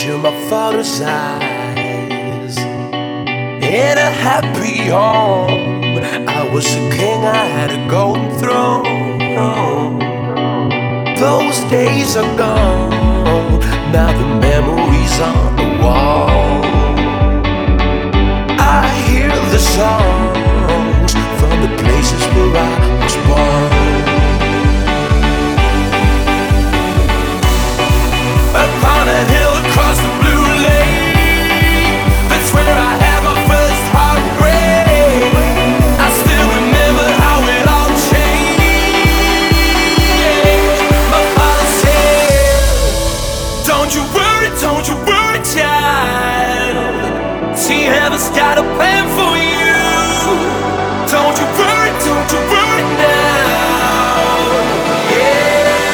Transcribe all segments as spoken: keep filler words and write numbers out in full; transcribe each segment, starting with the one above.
picture my father's eyes in a happy home. I was a king, I had a golden throne. Those days are gone, now the memories on the wall. I hear the songs from the places where I was born. Upon a hill across the blue lake, that's where I had my first heartbreak. I still remember how it all changed. My father said, don't you worry, don't you worry, child. See, heaven's got a plan for you. Don't you worry, don't you worry now. Yeah.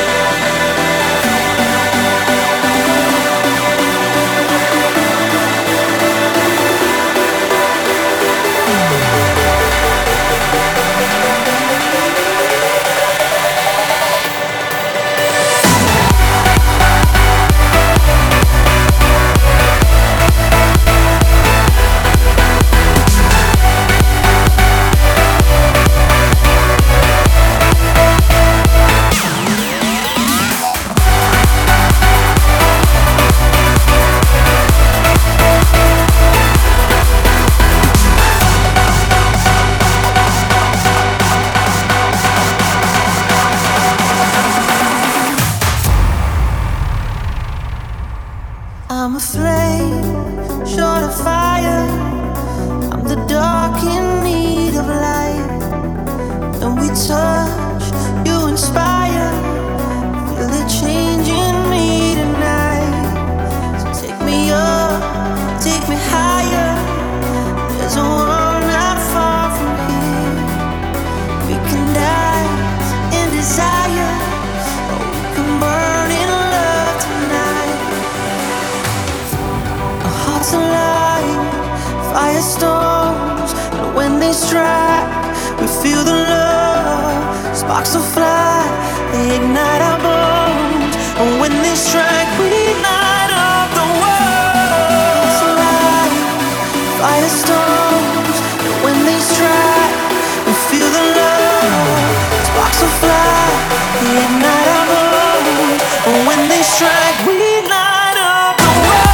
I'm a flame, short of fire. I'm the dark in need of light. And we touch, you inspire. Feel it changing me tonight. So take me up, take me higher. There's a world not far from here. We can dance in desire, or we can burn in love tonight. Hearts alive, firestorms, and when they strike, we feel the love. Sparks will fly, they ignite our bones, and when they strike, we light up the world. Hearts alive, firestorms, and when they strike, we feel the love. Sparks will fly, they ignite our bones, and when they strike, we light up the world.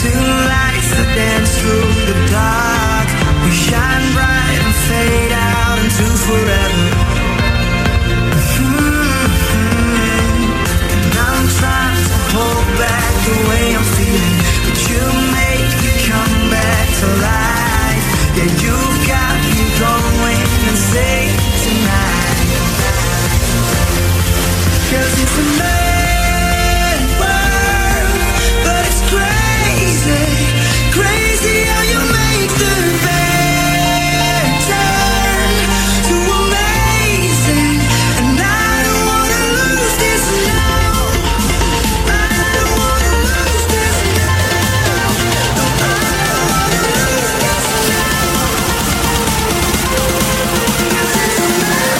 two lights that dance through the dark. We shine bright and fade out into forever. Mm-hmm. And I'm trying to hold back the way I'm feeling, but you make me come back to life. Yeah, you've got me going insane tonight. 'Cause it's a mad world, but it's crazy, crazy how you make the bad turn to amazing. And I don't wanna lose this now. I don't wanna lose this now. No, I don't wanna lose this now. 'Cause it's a mad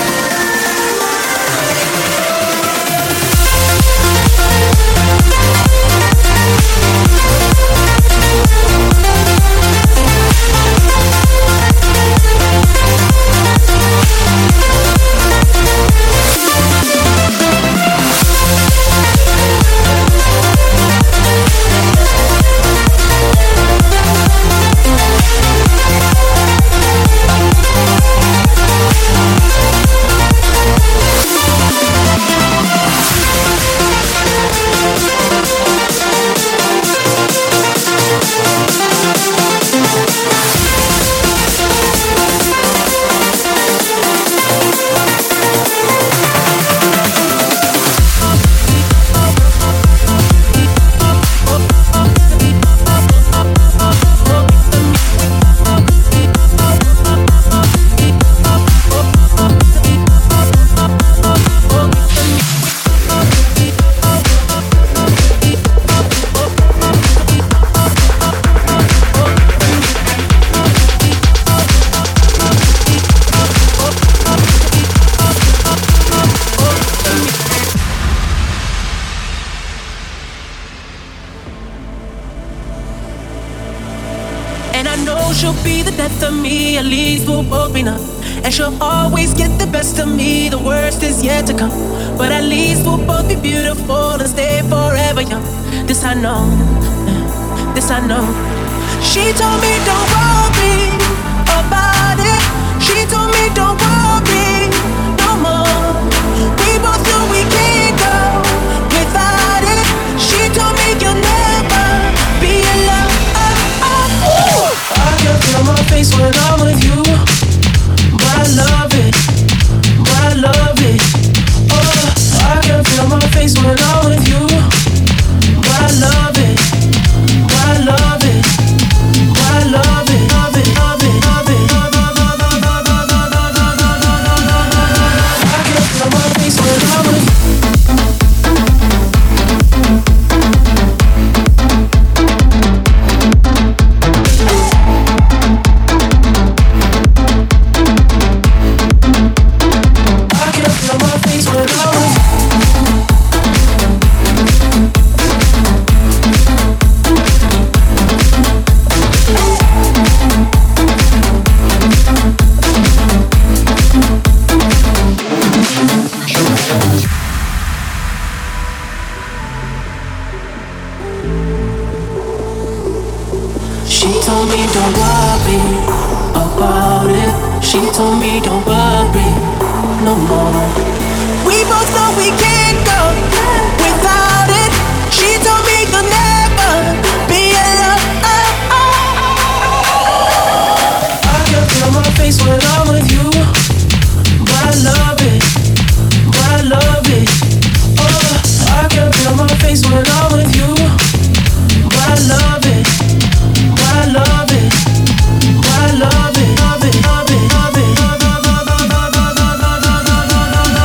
and she'll always get the best of me. The worst is yet to come, but at least we'll both be beautiful and stay forever young. This I know, this I know. She told me don't worry about it. She told me don't worry no more. We both know we can't go without it. She told me you'll never be alone. Oh, oh, oh. I can feel my face when I'm with you. I love it, I love it. Oh, I can feel my face when I'm with you. I love it, I love it, I love it, love it, love it, love it. I can feel my face when I'm with you. She told me don't worry no more. We both know we can't go without it. She told me you'll never be alone. I can feel my face when I'm with you. I love it, I love it. Oh, I can feel my face when I'm with you. I love it, I love it, I love it, love it, love it, love it.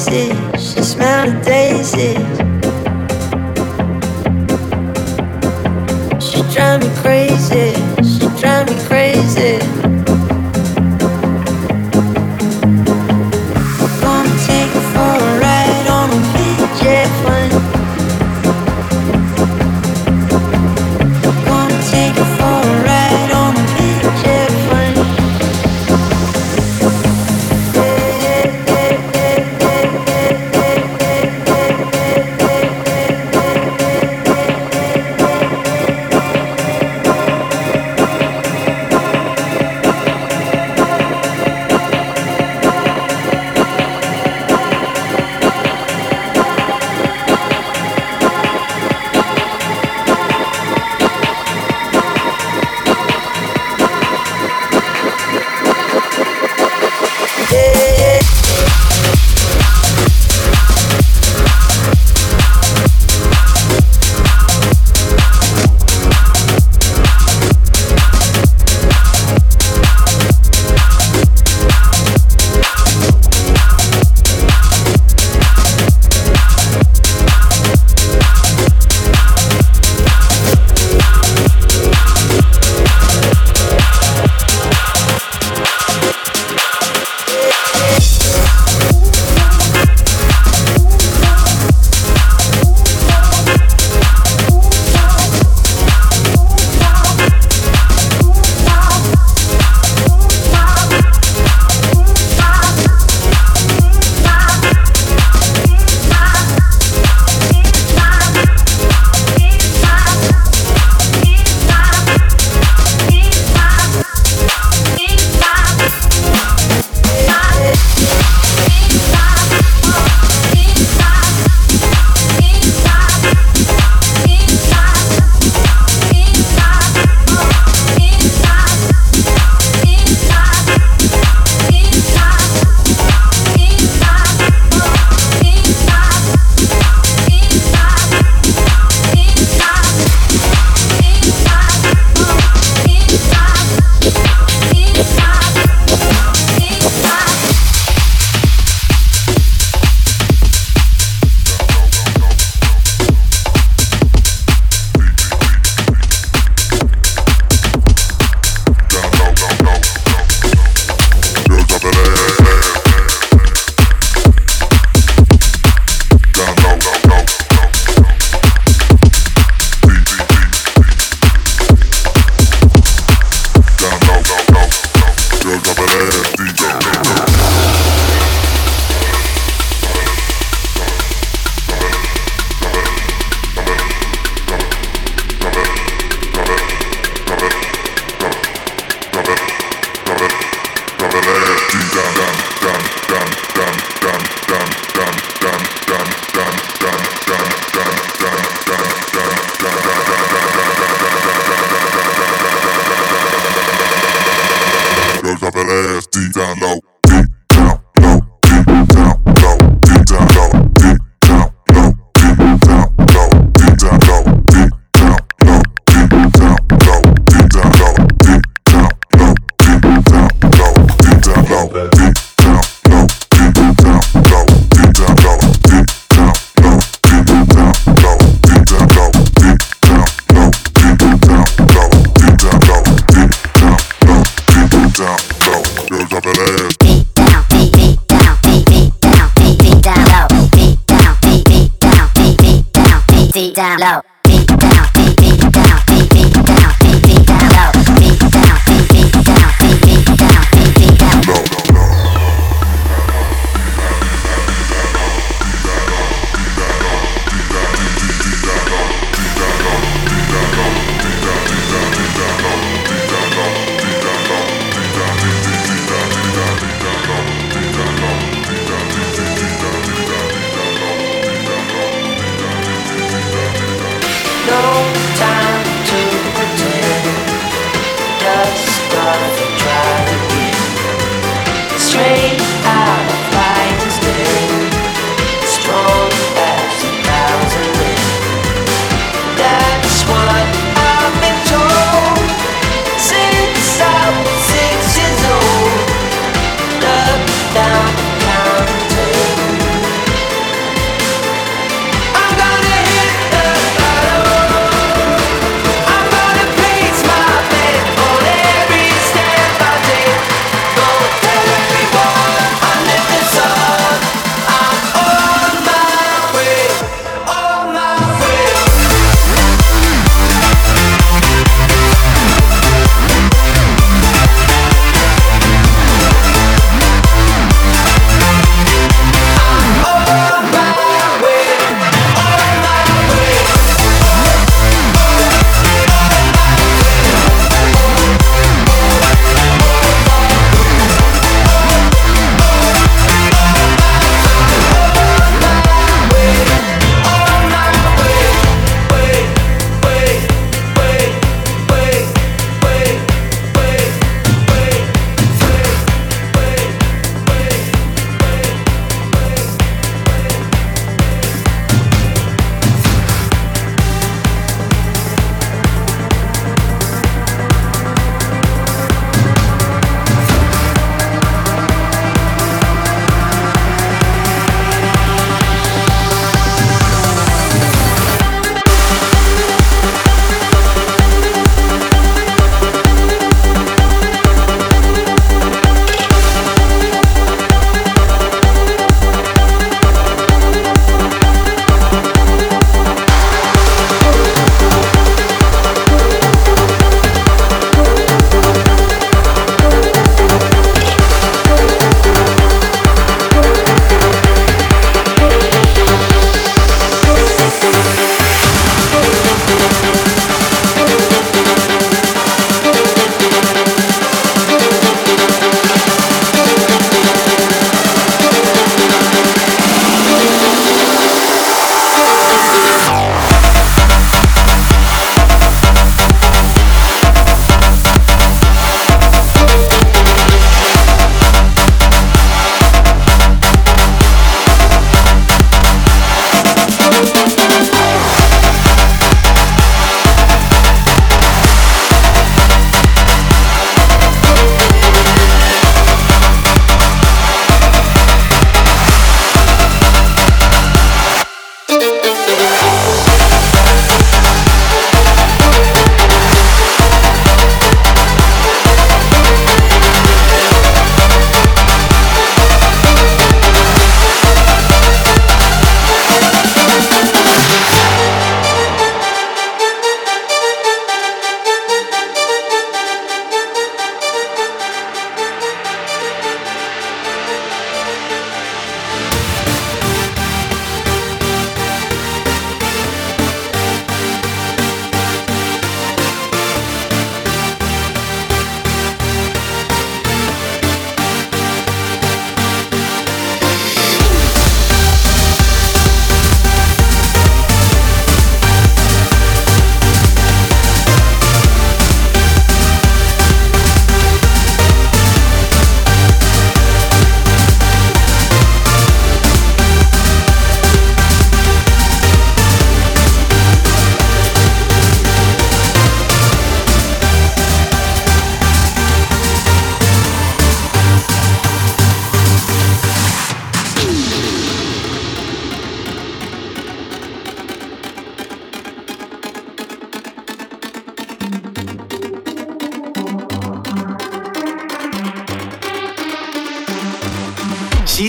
faces, she smelled the daisies. She drive me crazy, she drive me crazy. Gonna take her for a ride on a big jet plane. Gonna take her for a ride on a big jet plane. Down low, beat down, beat beat down, beat beat down, beat beat down low, beat down, beat beat down, beat beat down, beat beat down low.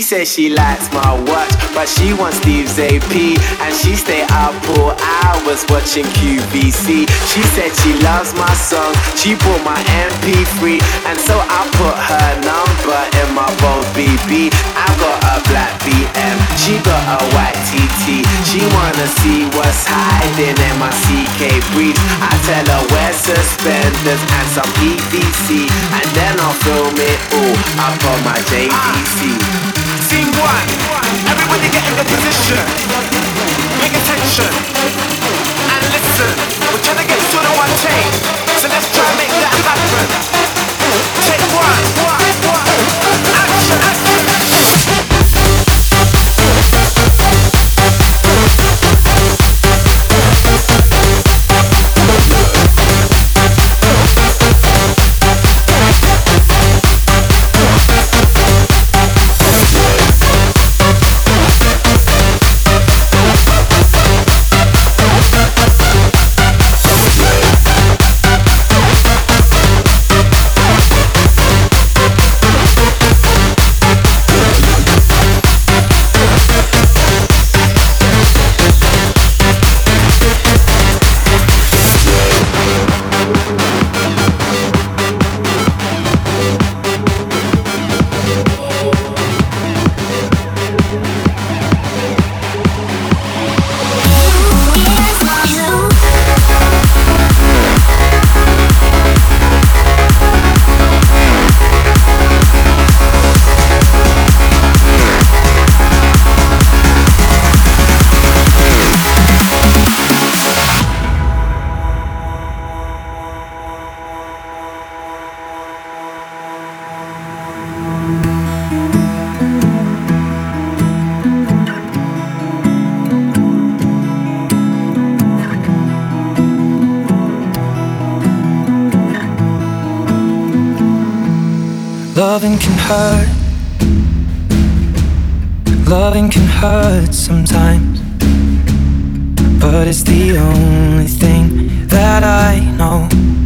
says she likes my watch, but she wants Steve's A P, and she stay up all hours watching Q V C. She said she loves my song, she bought my M P three, and so I put her number in my phone B B. I got a black B M, she got a white T T. She wanna see what's hiding in my C K briefs. I tell her wear suspenders and some P V C, and then I'll film it all up on my J V C. Scene one, everybody get in the position. Pay attention and listen. We're trying to get to the one take, so let's try and make that happen. Take one, one, one. Action, action. Loving can hurt. Loving can hurt sometimes, but it's the only thing that I know.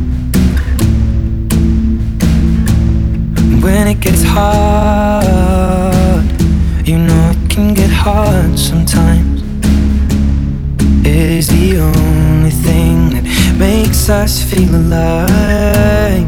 When it gets hard, you know it can get hard sometimes. It is the only thing that makes us feel alive.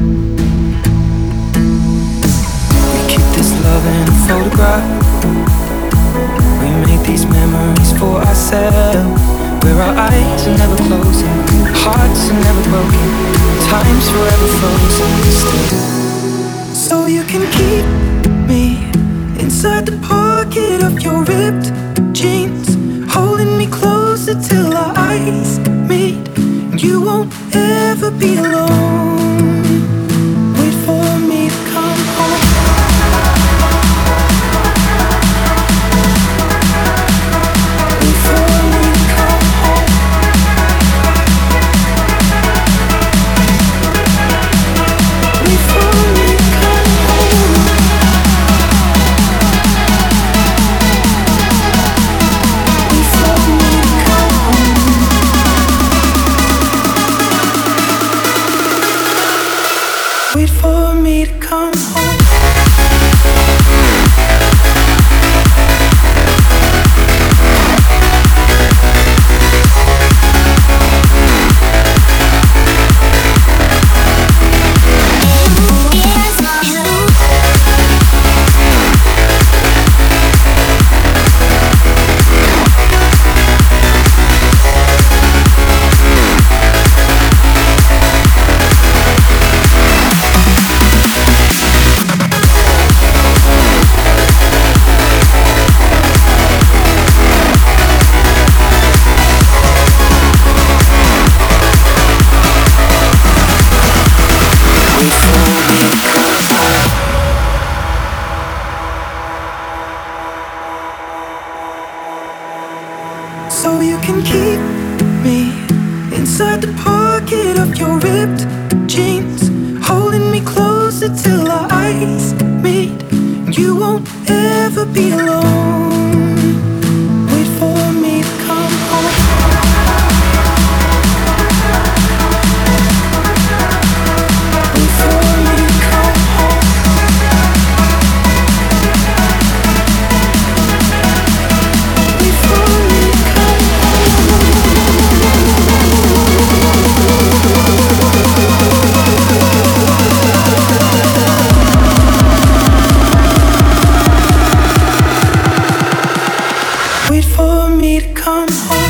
Love in a photograph. We make these memories for ourselves, where our eyes are never closing, hearts are never broken, time's forever frozen still. So you can keep me inside the pocket of your ripped jeans, holding me closer till our eyes meet. You won't ever be alone. Wait for me to come home. Wait for me to come home. So you can keep me inside the pocket of your ripped jeans, holding me closer till our eyes meet. You won't ever be alone. Wait for me to come home. Wait for me to come home. Wait for me to come home.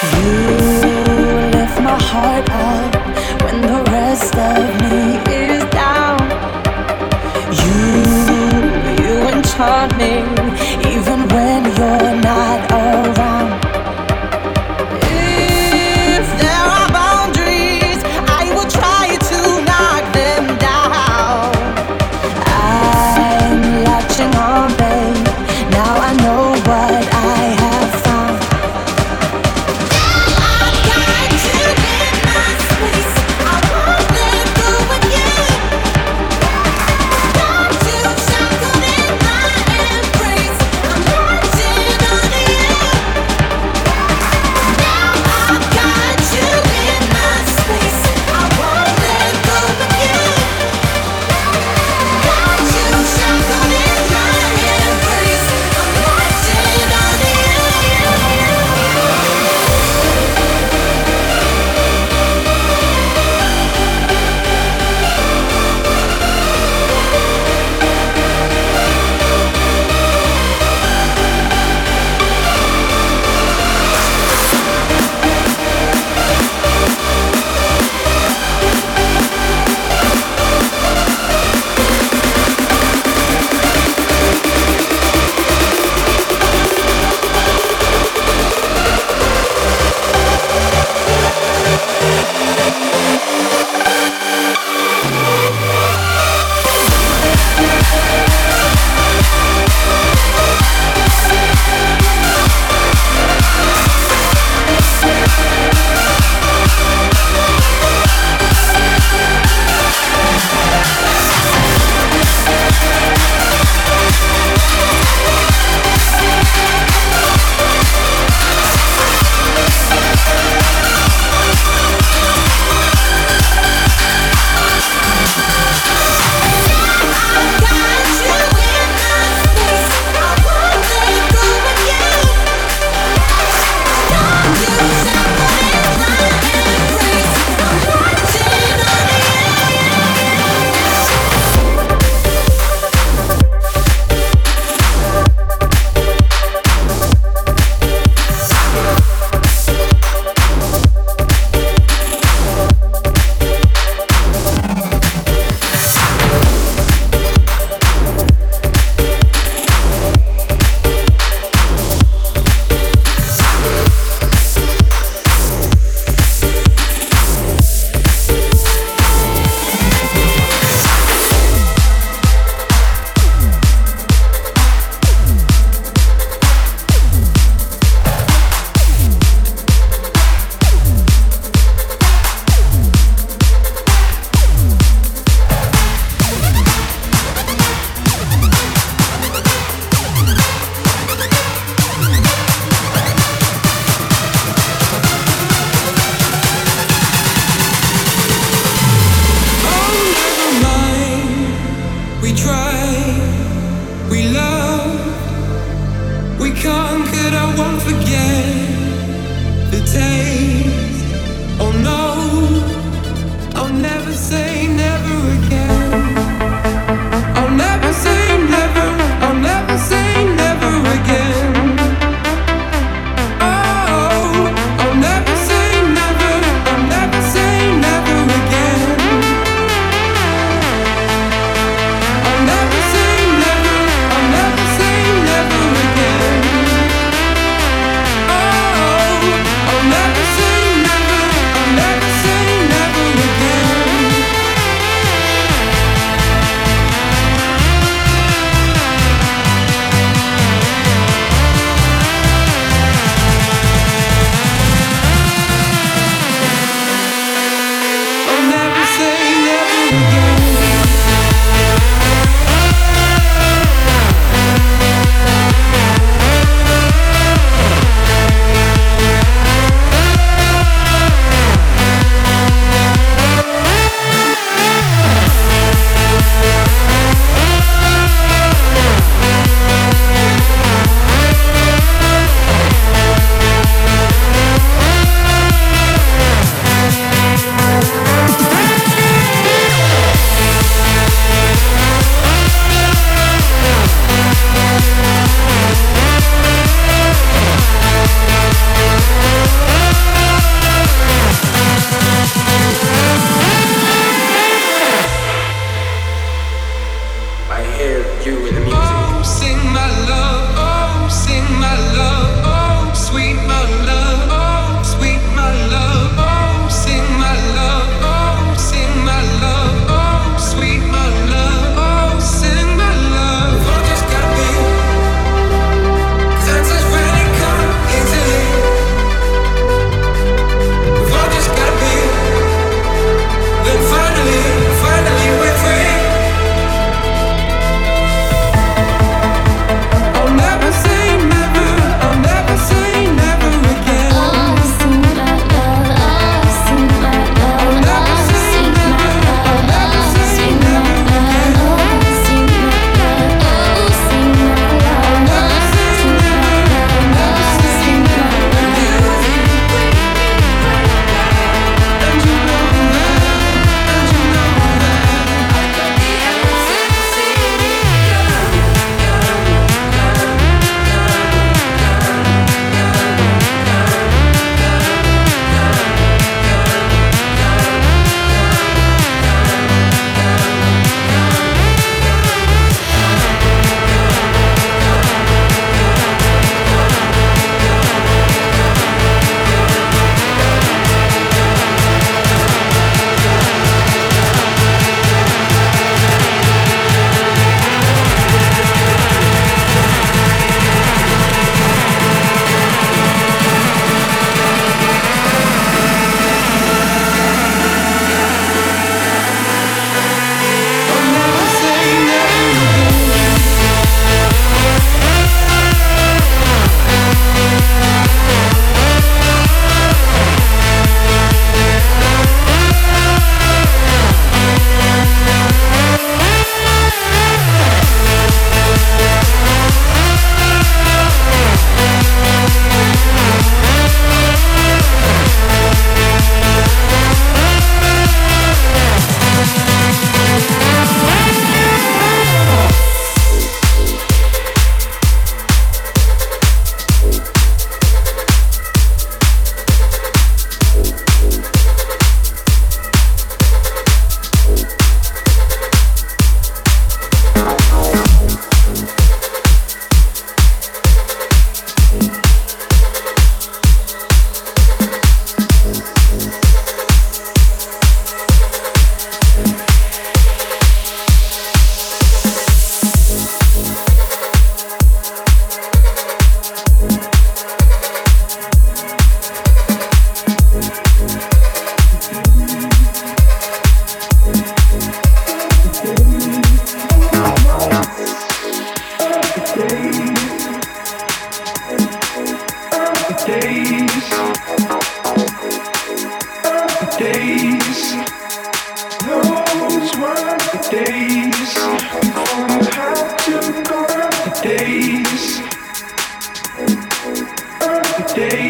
You lift my heart up when the rest of me is down. You, you enchant me even when you're not around. If there are boundaries, I will try to knock them down. I'm latching on, babe. Now I know what I have found. I got to get my space.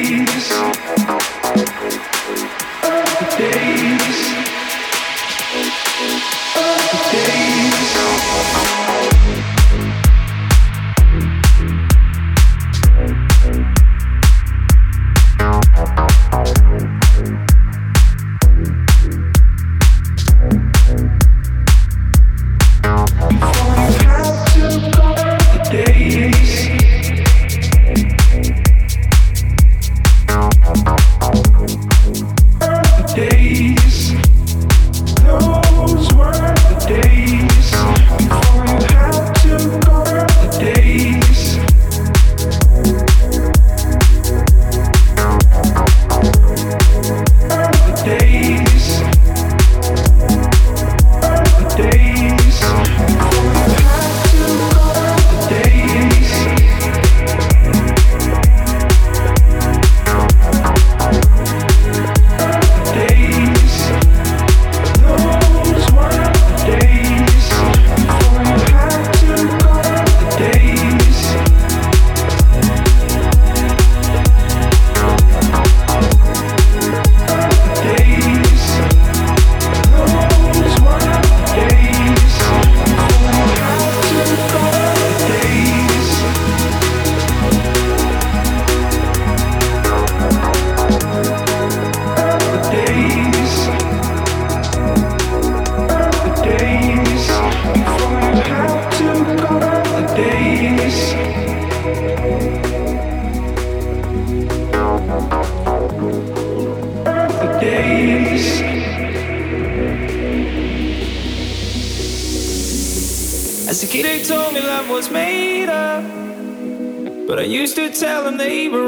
As a kid they told me love was made up, but I used to tell them they were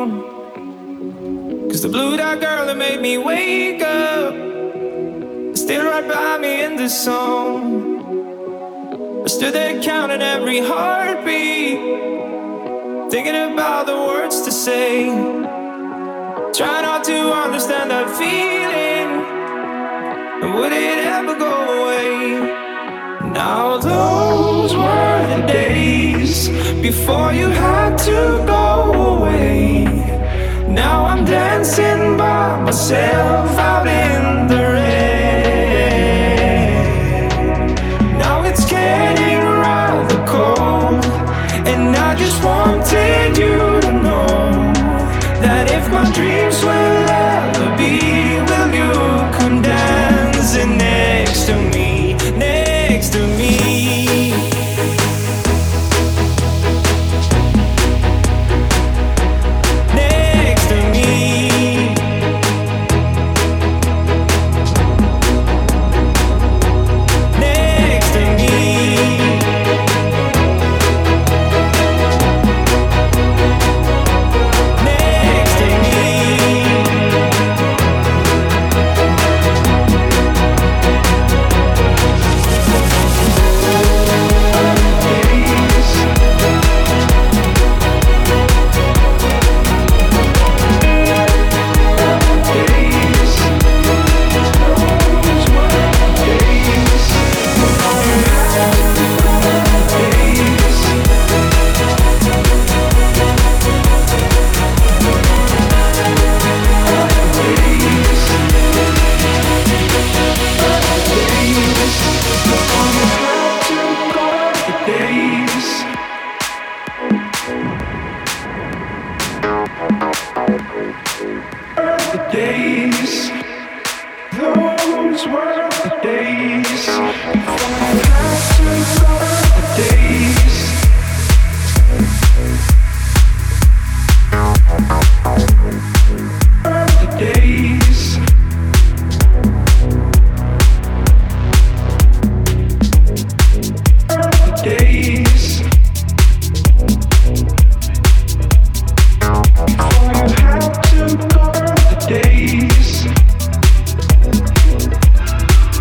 wrong. Cause the blue dot girl that made me wake up is still right by me in this song. I stood there counting every heartbeat, thinking about the words to say, try not to understand that feeling, and would it ever go away? Now those were the days before you had to go away. Now I'm dancing by myself out in the rain. Now it's getting rather cold, and I just wanted you to know that if my dreams will ever be, will you come dancing next to me, next to me? Next to me. Next to me. Next to me. Days, those were the days. The days. The days. The days. Before you had to go. Days.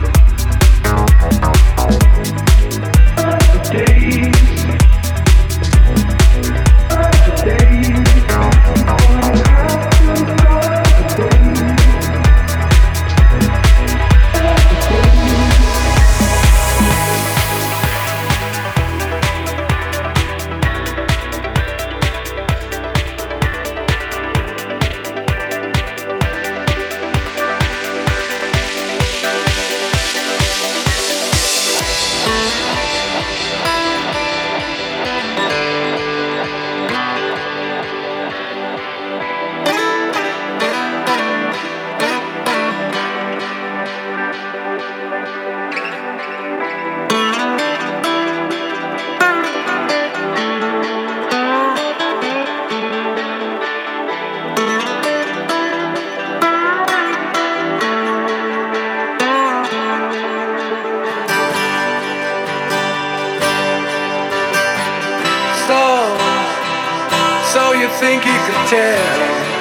think you can tell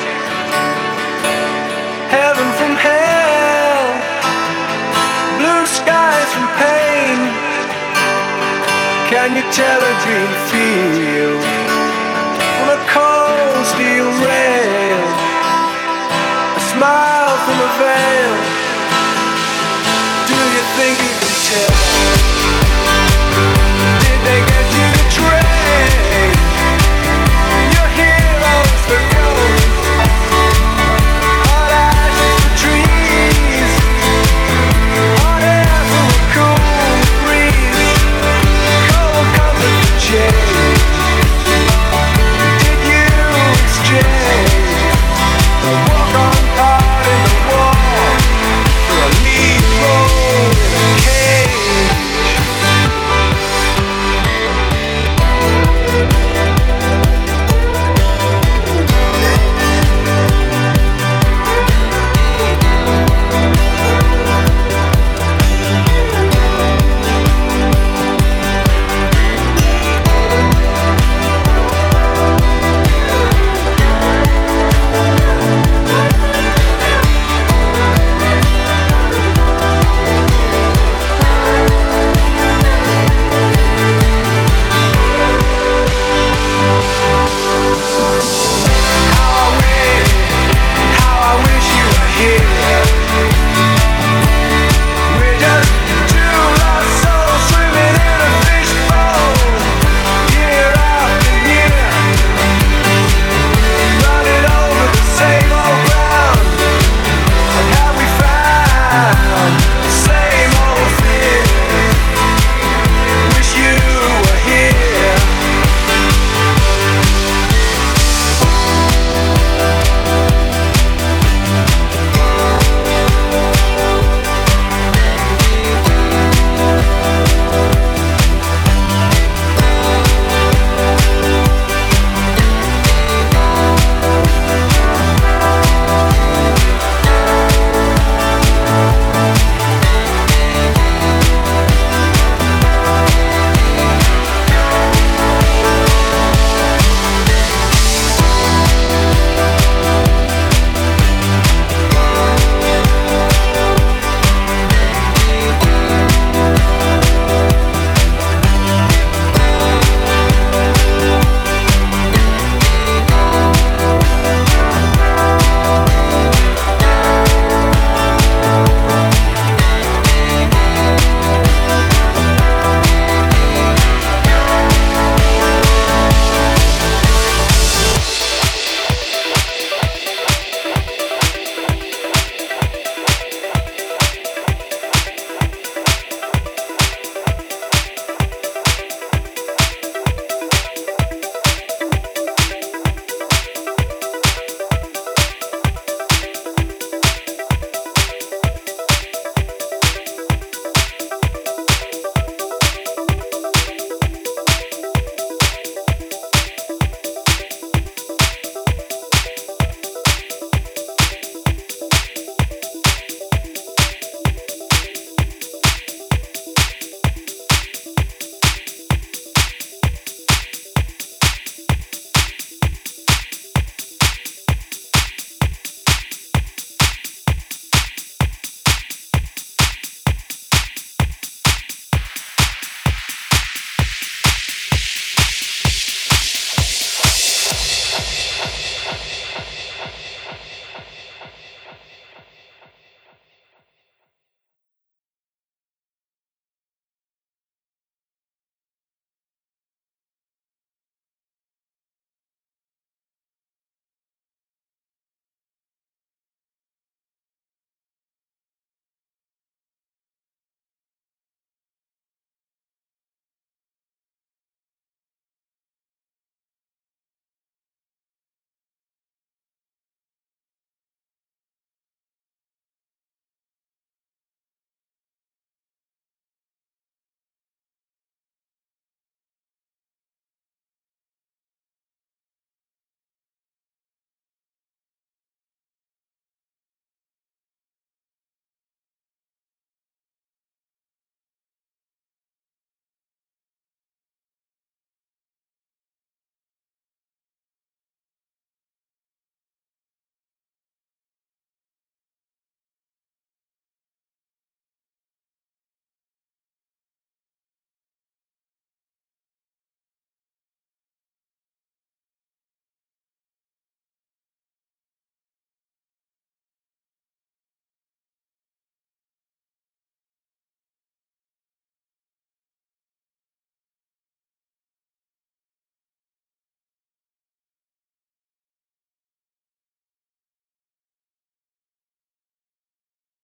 heaven from hell, blue skies from pain? Can you tell a dream feel on a cold steel rail, a smile from a veil? Do you think you can tell?